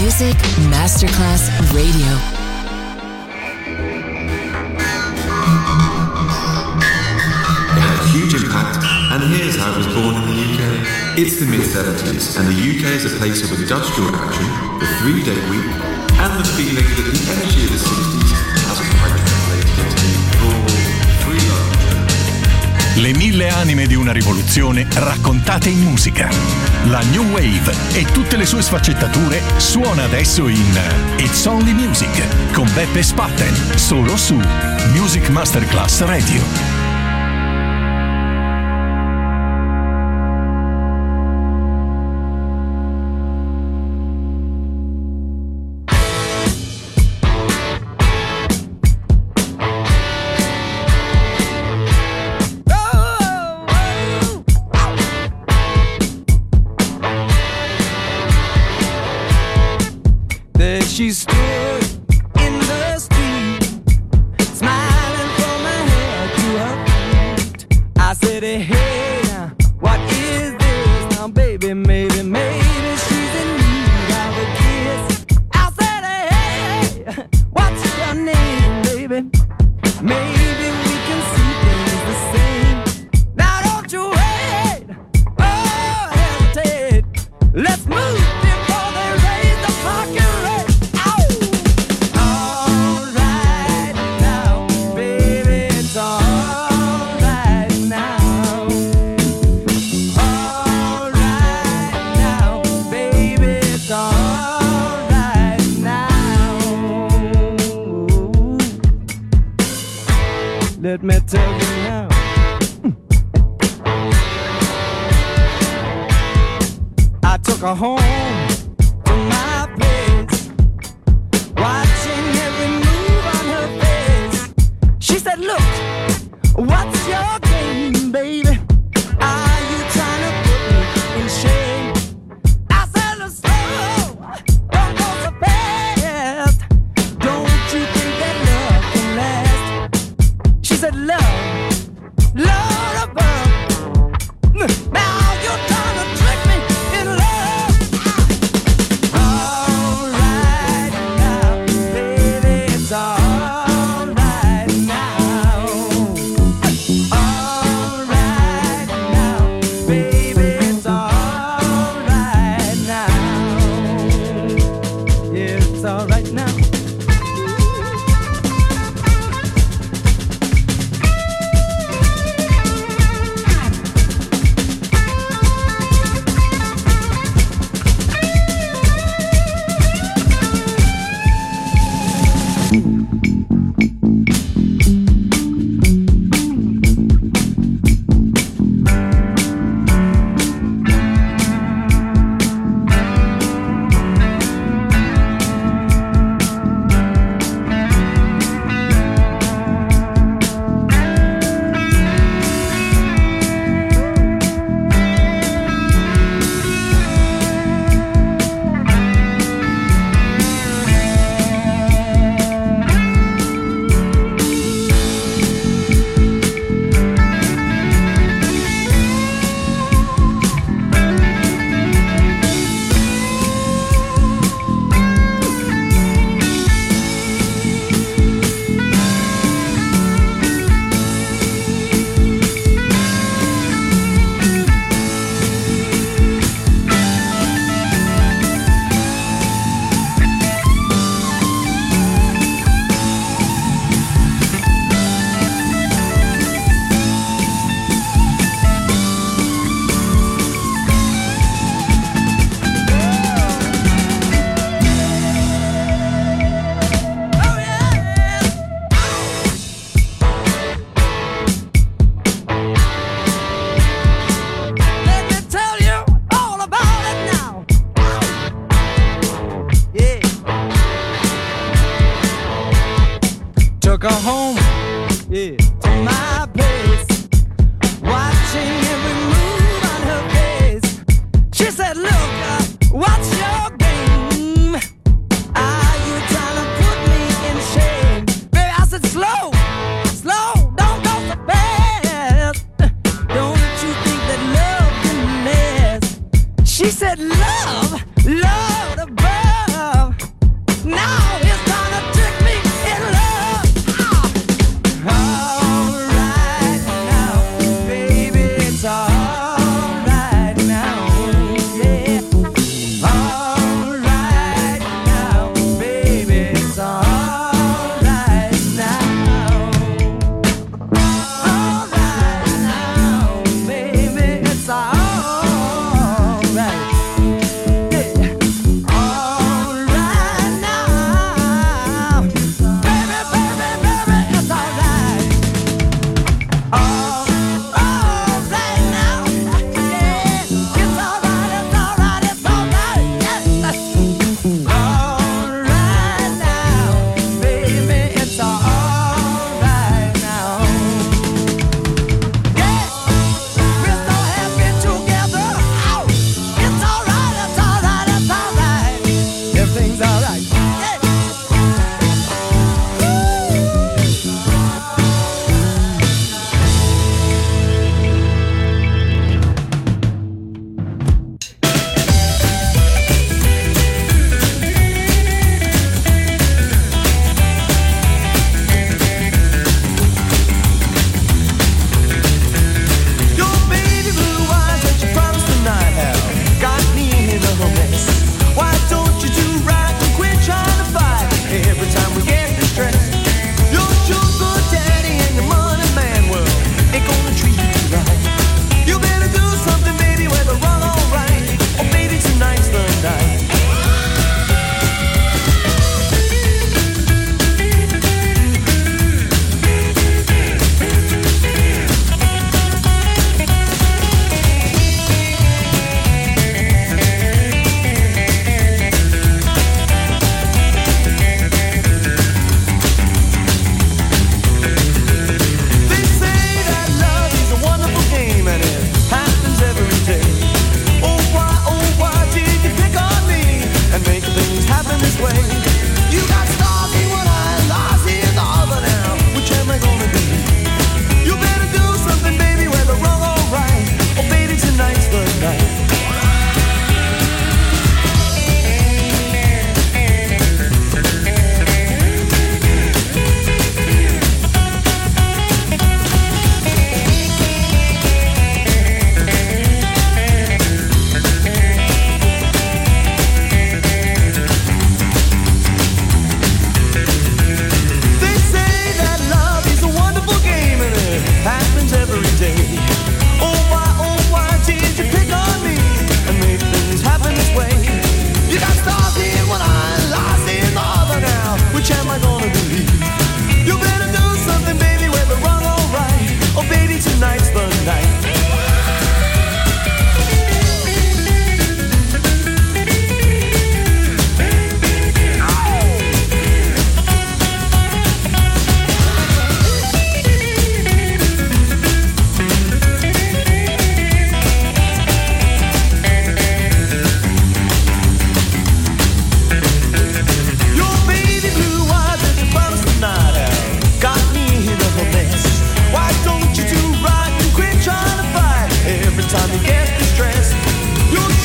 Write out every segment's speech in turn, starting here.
Music Masterclass Radio. Huge impact, and here's how it was born in the UK. It's the mid-70s, and the UK is a place of industrial action, the 3-day week, and the feeling that the energy of the 60s hasn't quite translated into the raw, free love. Le 1000 anime di una rivoluzione raccontate in musica. La New Wave e tutte le sue sfaccettature suona adesso in It's Only Music con Beppe Spatten, solo su Music Masterclass Radio. She stood in the street, smiling from her head to her feet. I said, hey, now, what is this? Now, baby, maybe she's in need of a kiss. I said, hey, what's your name, baby? Maybe we can see things the same. Now, don't you wait, oh, hesitate. Let's move before they raise the fucking rate. Let me tell you now. I took her home to my place, watching every move on her face. She said, look, what's your game, baby? Are you trying to put me in shame? I said, look, slow, don't go so fast. Don't you think that love can last? She said, love, love above. Now you're trying to trick me in love. All right now, baby, it's all right now. All right now, baby, it's all right now. Yeah, it's all right now. Took her home, yeah, to my place, watching every move on her face. She said, look, what's your game? Are you trying to put me in shame? Baby, I said, slow, slow, don't go so fast. Don't you think that love can last? She said, love, love above.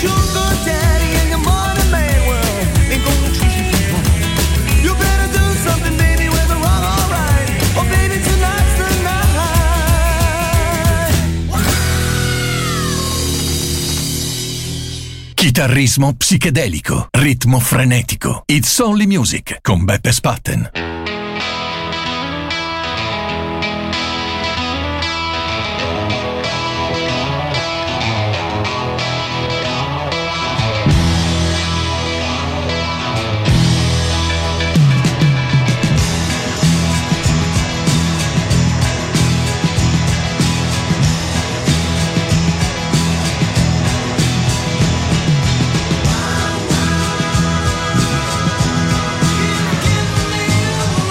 sugar daddy and your money man, well, ain't gonna treat you right. You better do something, baby, whether wrong or right. Oh, baby, tonight's the night. Chitarrismo psichedelico, ritmo frenetico. It's Only Music con Beppe Spatten. Give me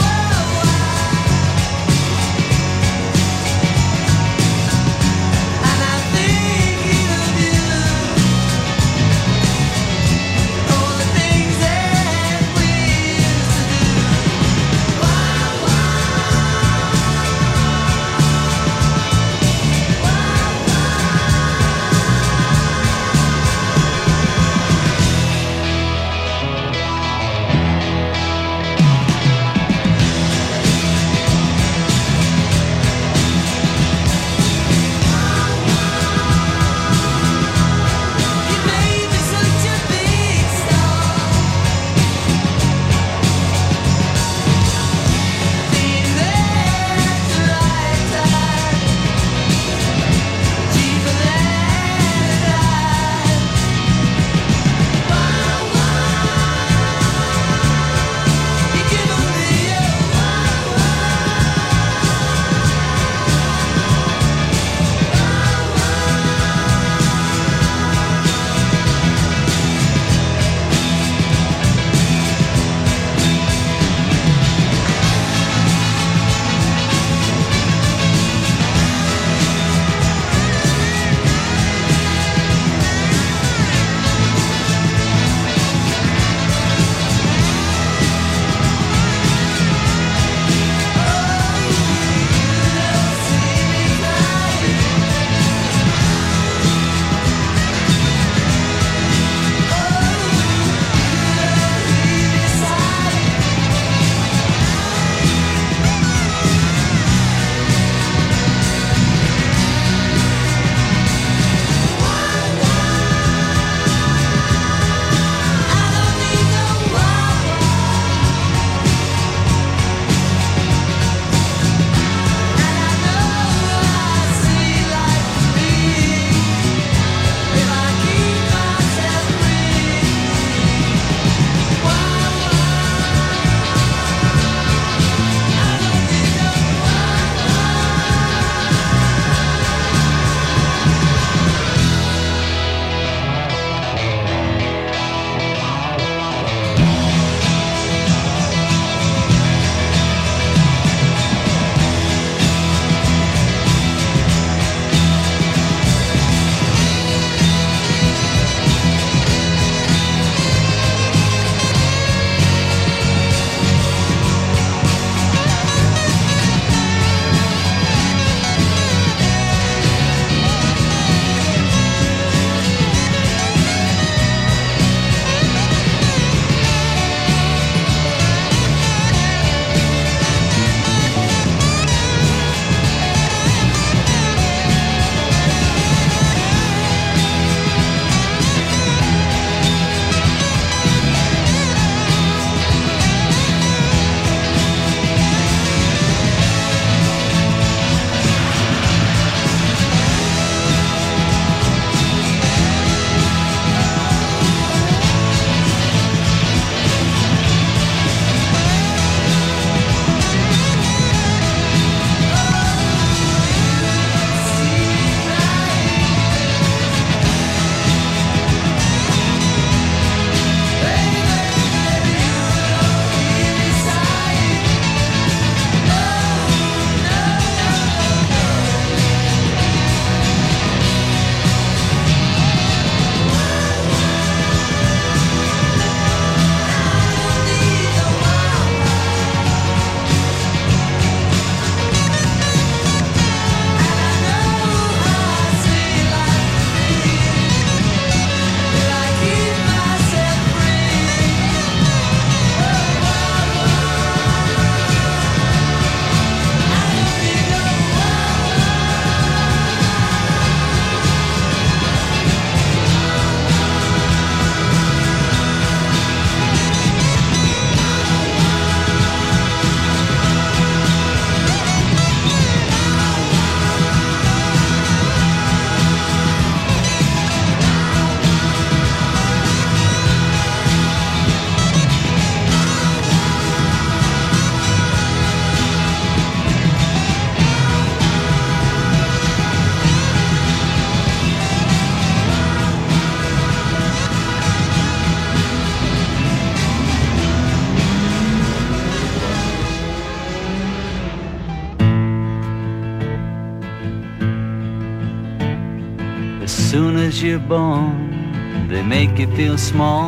as you're born, they make you feel small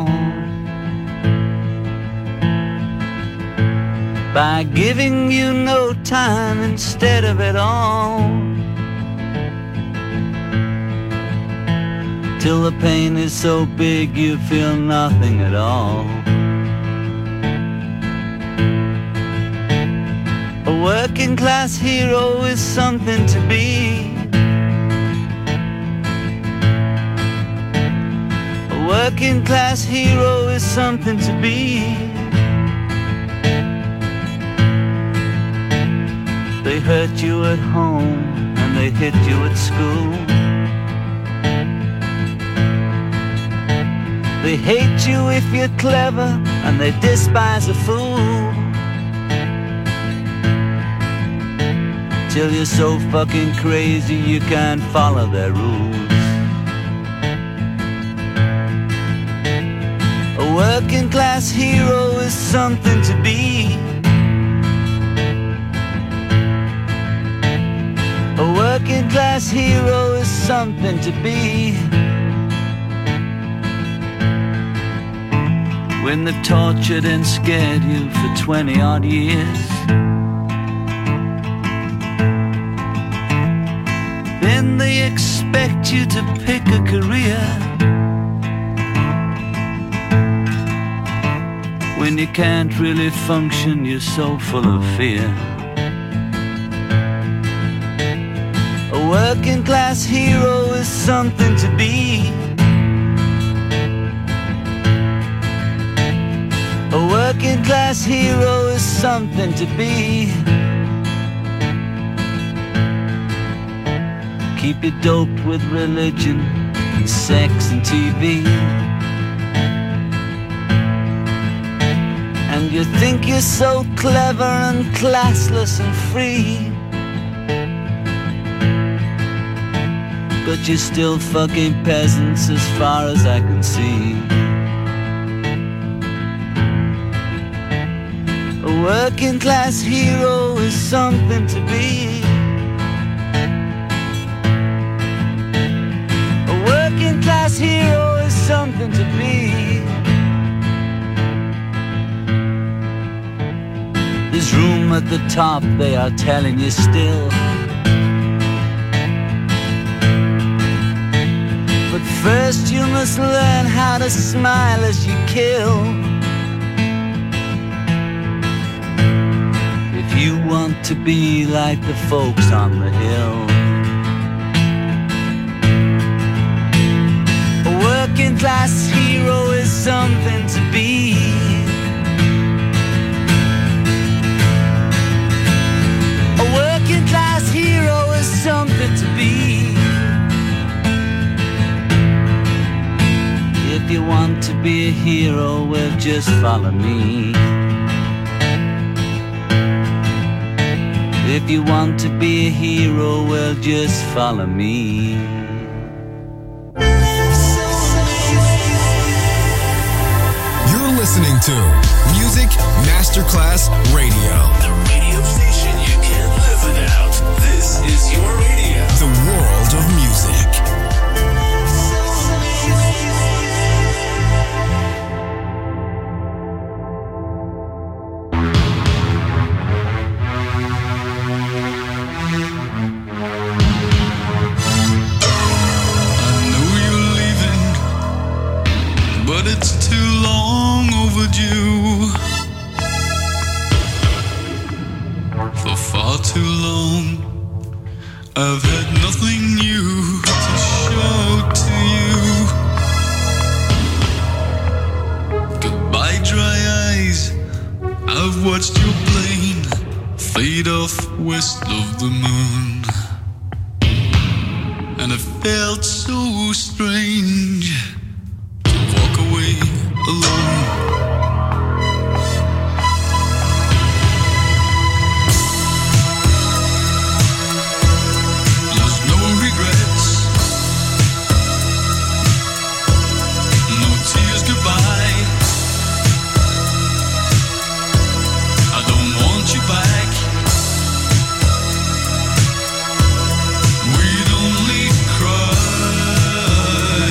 by giving you no time instead of it all, till the pain is so big you feel nothing at all. A working class hero is something to be. A working class hero is something to be. They hurt you at home and they hit you at school. They hate you if you're clever and they despise a fool, till you're so fucking crazy you can't follow their rules. A working class hero is something to be. A working class hero is something to be. When they've tortured and scared you for 20 odd years, then they expect you to pick a career. When you can't really function, you're so full of fear. A working class hero is something to be. A working class hero is something to be. Keep you doped with religion and sex and TV, and you think you're so clever and classless and free, but you're still fucking peasants as far as I can see. A working class hero is something to be. A working class hero is something to be. There's room at the top, they are telling you still. But first you must learn how to smile as you kill. If you want to be like the folks on the hill. A working class hero is something to be. A working class hero is something to be. If you want to be a hero, well, just follow me. If you want to be a hero, well, just follow me. You're listening to Music Masterclass Radio. The radio station you can't live without. This is your radio. The world of music. It's too long overdue. For far too long I've had nothing new to show to you. Goodbye dry eyes, I've watched your plane fade off west of the moon, and it felt so strange walk away alone. There's no regrets, no tears goodbye. I don't want you back. We'd only cry.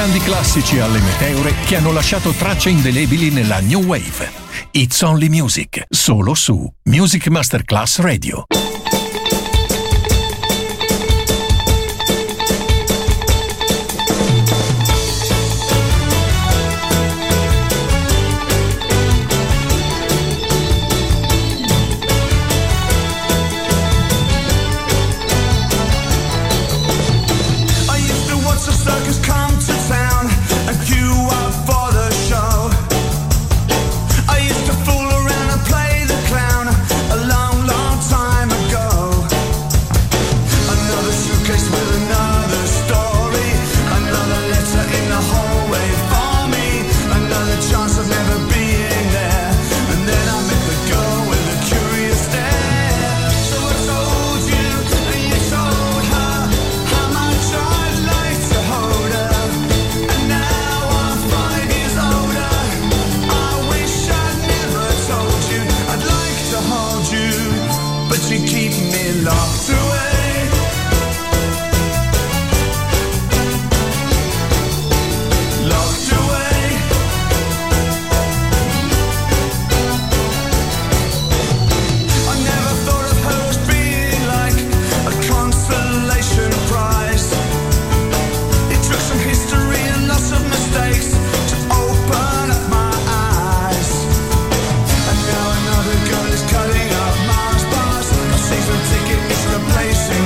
grandi classici alle meteore che hanno lasciato tracce indelebili nella New Wave. It's Only Music, solo su Music Masterclass Radio. Cutting up Mars bars, a season ticket is replacing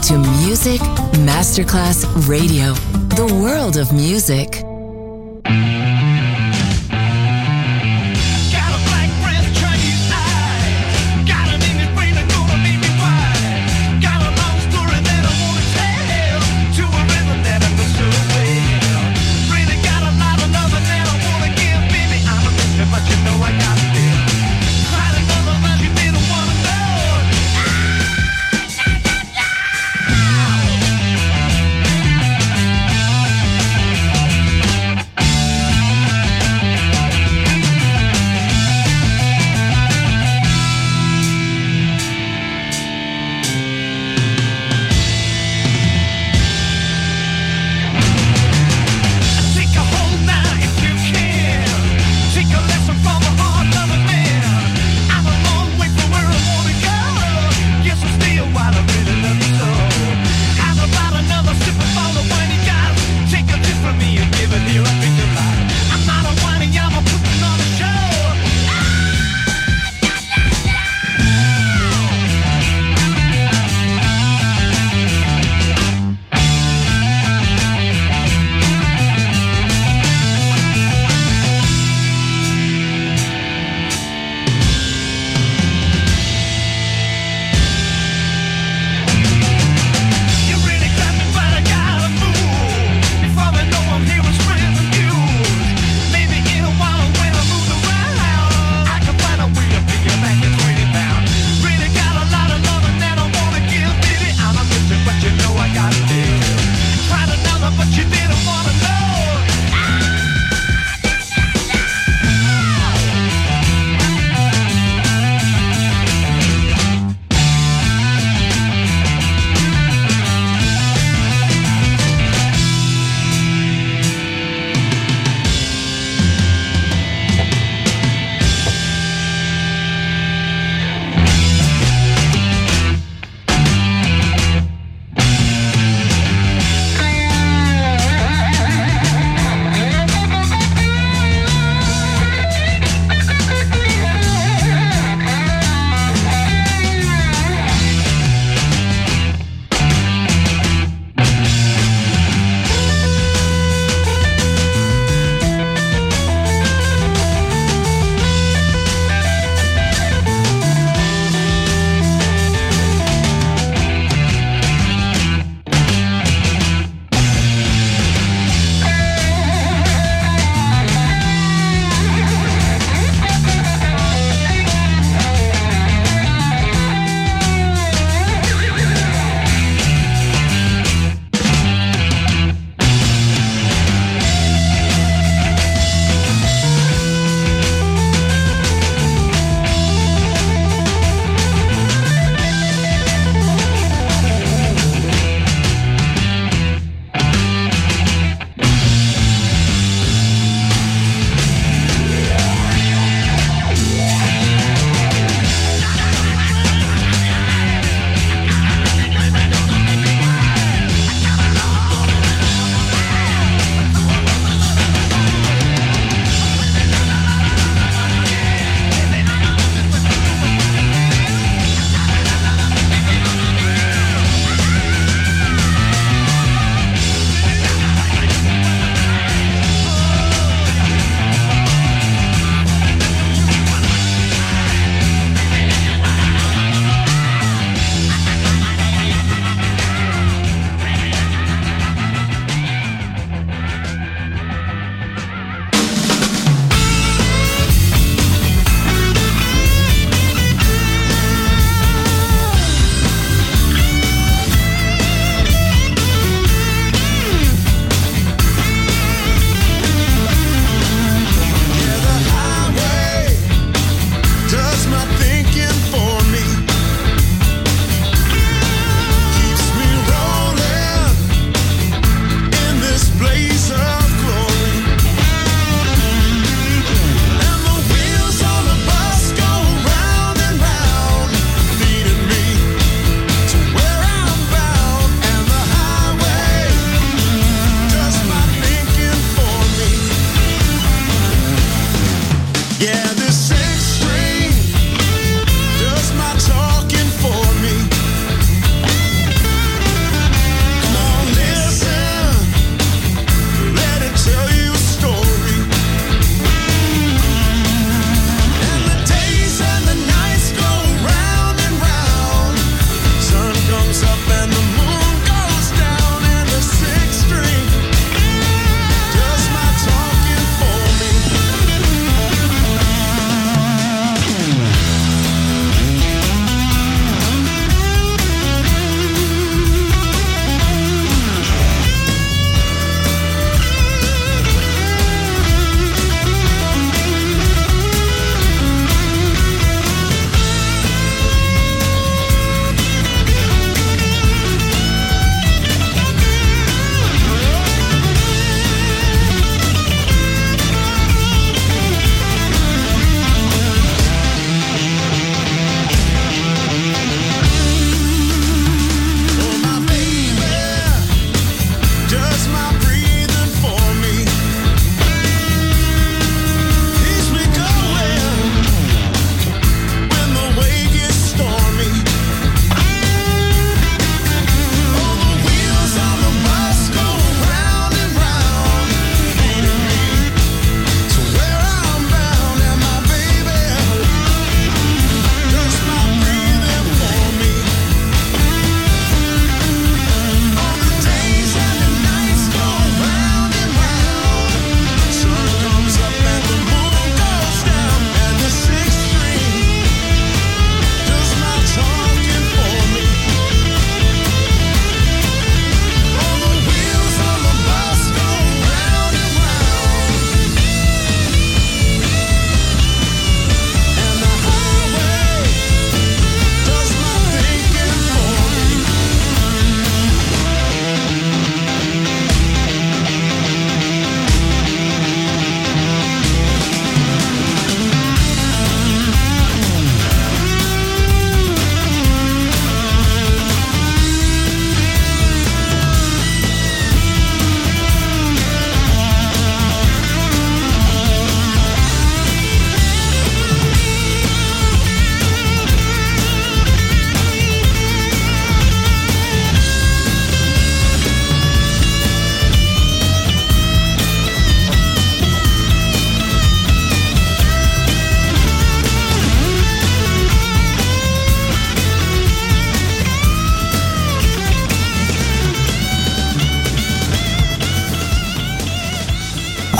to Music Masterclass Radio, the world of music.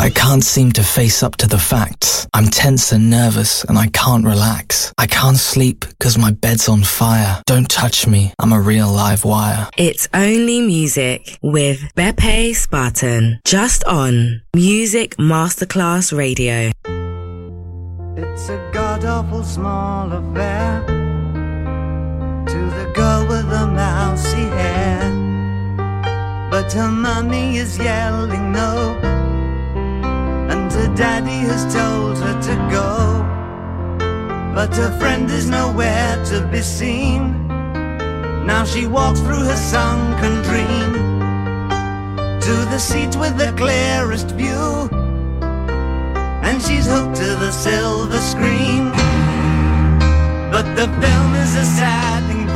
I can't seem to face up to the facts. I'm tense and nervous and I can't relax. I can't sleep because my bed's on fire. Don't touch me, I'm a real live wire. It's Only Music with Beppe Spartan, just on Music Masterclass Radio. It's a god-awful small affair to the girl with the mousy hair, but her mummy is yelling no, and her daddy has told her to go, but her friend is nowhere to be seen. Now she walks through her sunken dream to the seat with the clearest view, and she's hooked to the silver screen. But the film is a sad thing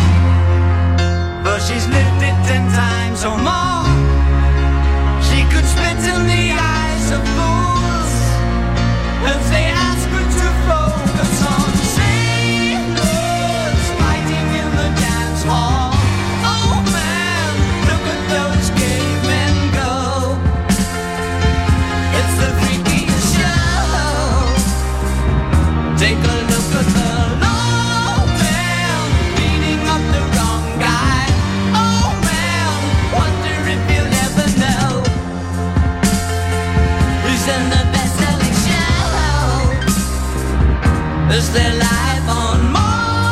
for she's lived it 10 times or more. She could spit in the eyes of fools as they ask her to focus on sailors fighting in the dance hall. Oh man, look at those cavemen go. It's the freakiest show. Take a look at the low man beating up the wrong guy. Oh man, wonder if you'll ever know who's in the best-selling show. Is there life on Mars?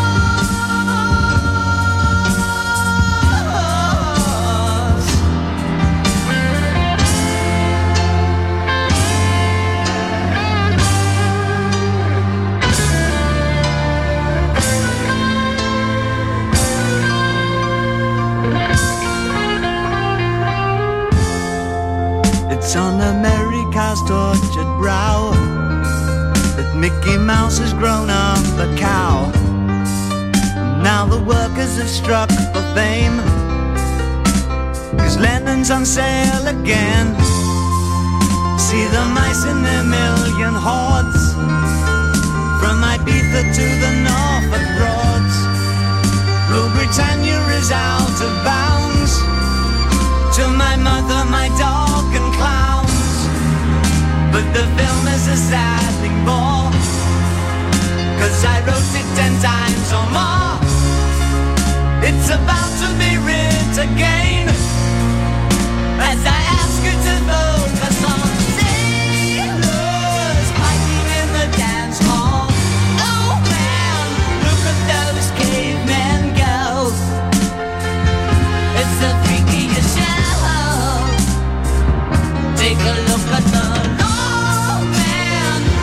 It's on America's tortured brow that Mickey Mouse has grown up a cow. And now the workers have struck for fame, 'cause Lennon's on sale again. See the mice in their million hordes, from Ibiza to the Norfolk Broads. Rule Britannia is out of bounds, to my mother, my dog and clowns. But the film is a sad thing more, 'cause I wrote it 10 times or more. It's about to be writ again, as I ask you to focus on sailors fighting in the dance hall. Oh man, look at those cavemen go. It's the freakiest show. Take a look at the low man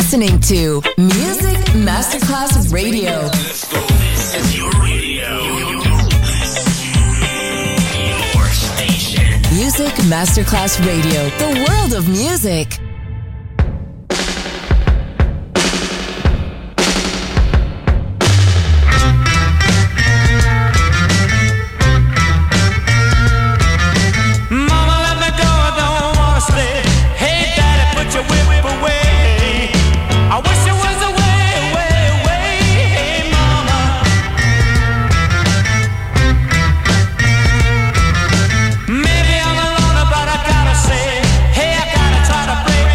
listening to Music Masterclass Radio. Let's go. This is your radio. Your station. Music Masterclass Radio. The world of music. Maybe I'm a loner, but I gotta say, hey, I gotta try to break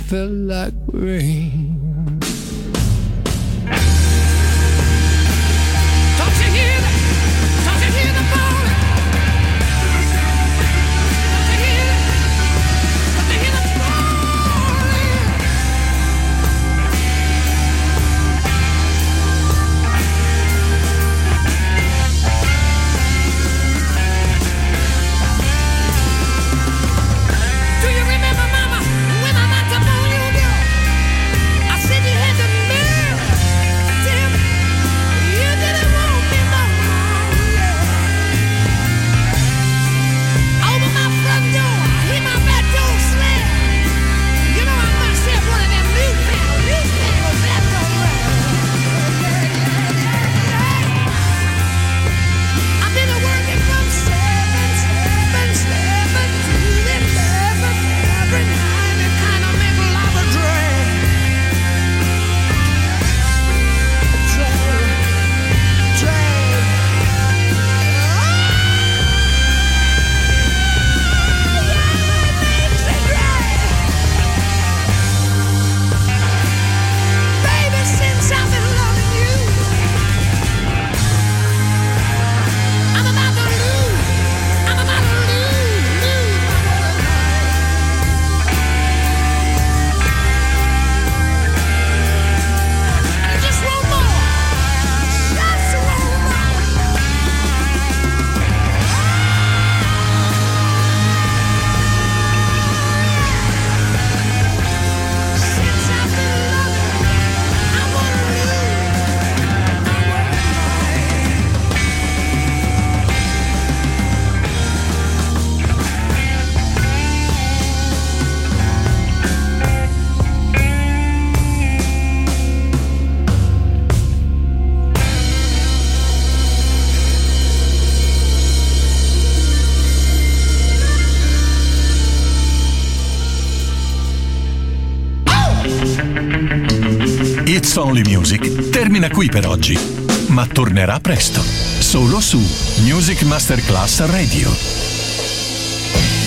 felt like rain. Don't you hear that? Don't you hear the falling? Don't you hear it? Don't you hear the Do you remember, Mama, when I knocked up on you, girl? I said you had the nerve. Tell me, you didn't want me no more. Open my front door, hit my back door slam. You know I must have one of them new panel back door I've been working from 7 to 11 every night. It kind of make a lot of drag. Baby, since I've been loving you, I'm about to lose my I just want more, just want more. Since I've been loving, I wanna It's Only Music termina qui per oggi, ma tornerà presto, solo su Music Masterclass Radio.